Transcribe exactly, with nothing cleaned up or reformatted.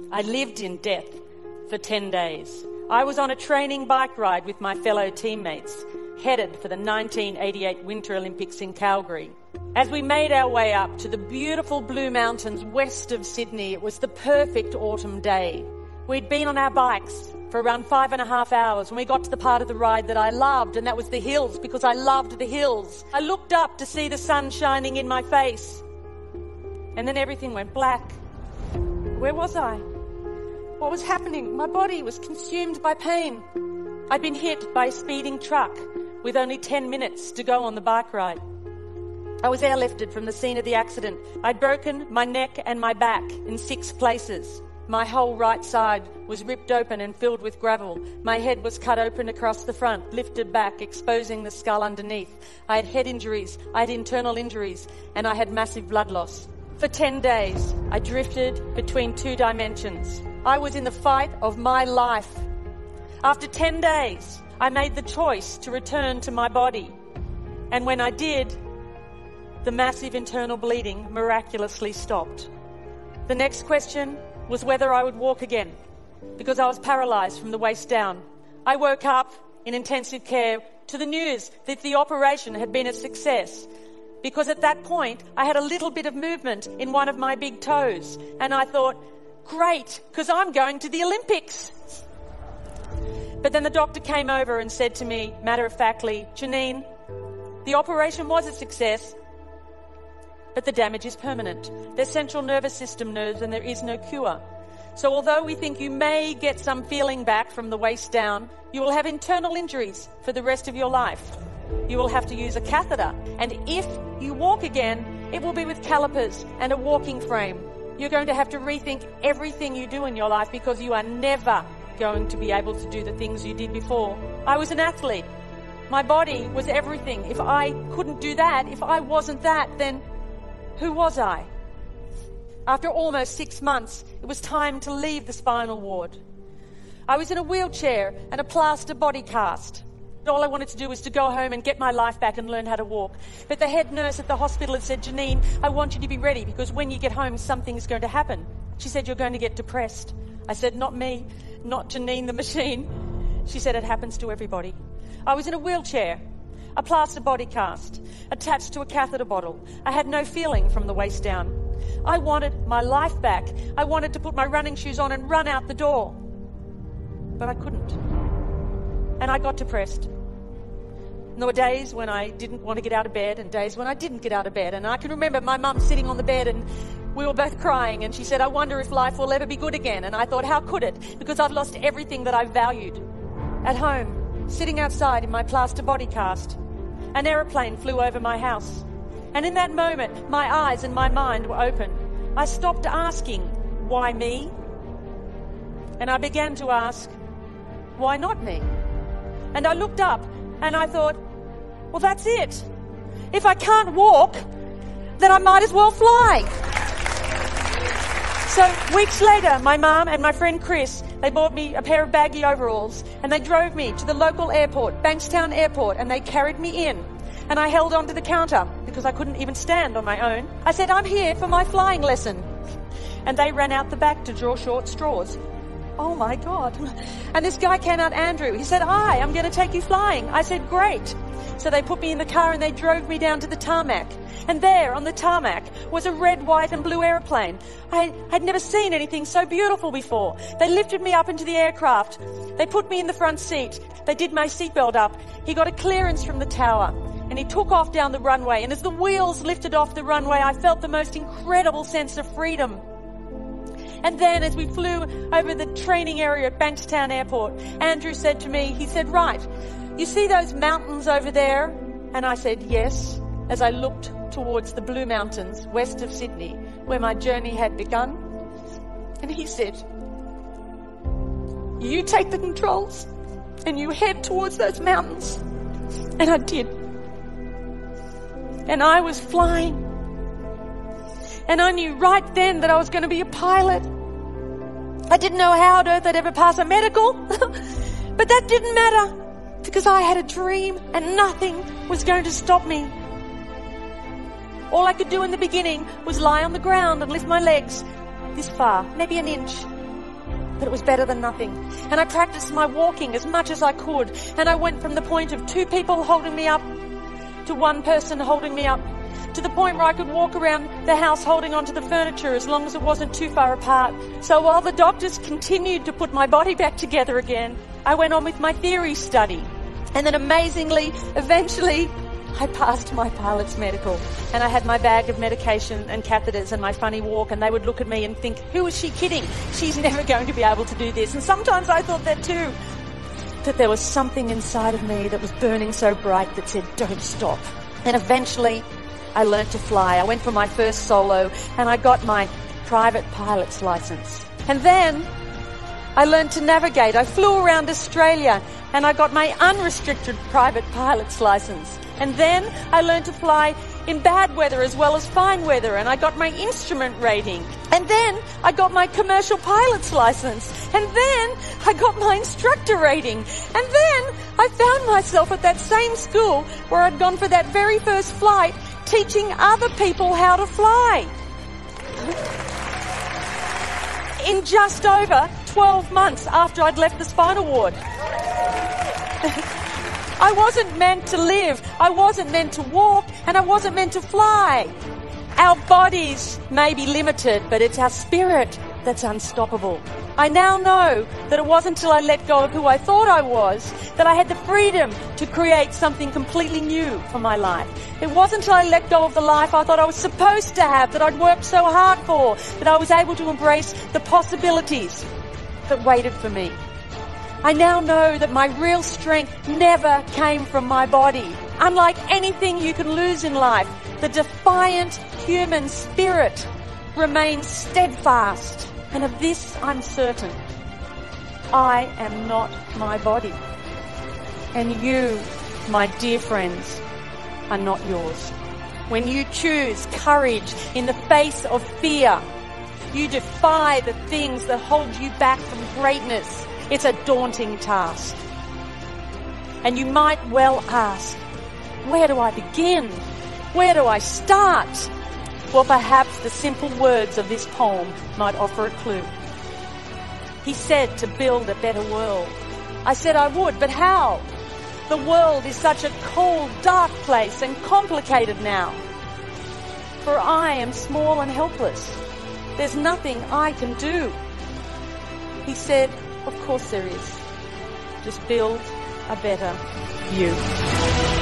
I lived in death for ten days. I was on a training bike ride with my fellow teammates, headed for the nineteen eighty-eight Winter Olympics in Calgary. As we made our way up to the beautiful Blue Mountains west of Sydney, it was the perfect autumn day. We'd been on our bikes for around five and a half hours when we got to the part of the ride that I loved, and that was the hills, because I loved the hills. I looked up to see the sun shining in my face, and then everything went black. Where was I? What was happening? My body was consumed by pain. I'd been hit by a speeding truck with only ten minutes to go on the bike ride. I was airlifted from the scene of the accident. I'd broken my neck and my back in six places. My whole right side was ripped open and filled with gravel. My head was cut open across the front, lifted back, exposing the skull underneath. I had head injuries, I had internal injuries, and I had massive blood loss. For ten days, I drifted between two dimensions. I was in the fight of my life. After ten days, I made the choice to return to my body. And when I did, the massive internal bleeding miraculously stopped. The next question was whether I would walk again, because I was paralyzed from the waist down. I woke up in intensive care to the news that the operation had been a success, because at that point I had a little bit of movement in one of my big toes, and I thought, great, because I'm going to the Olympics. But then the doctor came over and said to me, matter-of-factly, Janine, the operation was a success, but the damage is permanent. There's central nervous system nerves and there is no cure. So although we think you may get some feeling back from the waist down, you will have internal injuries for the rest of your life. You will have to use a catheter, and if you walk again, it will be with calipers and a walking frame. You're going to have to rethink everything you do in your life, because you are never going to be able to do the things you did before. I was an athlete. My body was everything. If I couldn't do that, if I wasn't that, then who was I? After almost six months, it was time to leave the spinal ward. I was in a wheelchair and a plaster body cast. All I wanted to do was to go home and get my life back and learn how to walk. But the head nurse at the hospital had said, Janine, I want you to be ready, because when you get home, something's going to happen. She said, you're going to get depressed. I said, not me, not Janine the machine. She said, it happens to everybody. I was in a wheelchair, a plaster body cast, attached to a catheter bottle. I had no feeling from the waist down. I wanted my life back. I wanted to put my running shoes on and run out the door. But I couldn't. And I got depressed. And there were days when I didn't want to get out of bed and days when I didn't get out of bed. And I can remember my mum sitting on the bed and we were both crying, and she said, I wonder if life will ever be good again. And I thought, how could it? Because I've lost everything that I valued. At home, sitting outside in my plaster body cast, an aeroplane flew over my house. And in that moment, my eyes and my mind were open. I stopped asking, why me? And I began to ask, why not me? And I looked up and I thought, well, that's it. If I can't walk, then I might as well fly. So weeks later, my mum and my friend Chris, they bought me a pair of baggy overalls and they drove me to the local airport, Bankstown Airport, and they carried me in. And I held onto the counter because I couldn't even stand on my own. I said, I'm here for my flying lesson. And they ran out the back to draw short straws. Oh my God. And this guy came out, Andrew. He said, hi, I'm going to take you flying. I said, great. So they put me in the car and they drove me down to the tarmac. And there on the tarmac was a red, white and blue aeroplane. I had never seen anything so beautiful before. They lifted me up into the aircraft. They put me in the front seat. They did my seatbelt up. He got a clearance from the tower and he took off down the runway. And as the wheels lifted off the runway, I felt the most incredible sense of freedom. And then as we flew over the training area at Bankstown Airport, Andrew said to me, he said, right, you see those mountains over there? And I said, yes, as I looked towards the Blue Mountains west of Sydney, where my journey had begun. And he said, you take the controls and you head towards those mountains. And I did. And I was flying. And I knew right then that I was going to be a pilot. I didn't know how on earth I'd ever pass a medical, but that didn't matter because I had a dream and nothing was going to stop me. All I could do in the beginning was lie on the ground and lift my legs this far, maybe an inch, but it was better than nothing. And I practiced my walking as much as I could. And I went from the point of two people holding me up to one person holding me up, to the point where I could walk around the house holding onto the furniture as long as it wasn't too far apart. So while the doctors continued to put my body back together again, I went on with my theory study. And then amazingly, eventually, I passed my pilot's medical, and I had my bag of medication and catheters and my funny walk, and they would look at me and think, who is she kidding? She's never going to be able to do this. And sometimes I thought that too. That there was something inside of me that was burning so bright that said, don't stop. And eventually, I learned to fly. I went for my first solo, and I got my private pilot's license. And then I learned to navigate. I flew around Australia, and I got my unrestricted private pilot's license. And then I learned to fly in bad weather as well as fine weather, and I got my instrument rating. And then I got my commercial pilot's license. And then I got my instructor rating. And then I found myself at that same school where I'd gone for that very first flight, teaching other people how to fly. In just over twelve months after I'd left the spinal ward. I wasn't meant to live, I wasn't meant to walk, and I wasn't meant to fly. Our bodies may be limited, but it's our spirit that's unstoppable. I now know that it wasn't until I let go of who I thought I was that I had the freedom to create something completely new for my life. It wasn't until I let go of the life I thought I was supposed to have, that I'd worked so hard for, that I was able to embrace the possibilities that waited for me. I now know that my real strength never came from my body. Unlike anything you can lose in life, the defiant human spirit remains steadfast. And of this I'm certain. I am not my body. And you, my dear friends, are not yours. When you choose courage in the face of fear, you defy the things that hold you back from greatness. It's a daunting task. And you might well ask, where do I begin? Where do I start? Well, perhaps the simple words of this poem might offer a clue. He said to build a better world. I said I would, but how? The world is such a cold, dark place and complicated now. For I am small and helpless. There's nothing I can do. He said, of course there is. Just build a better you.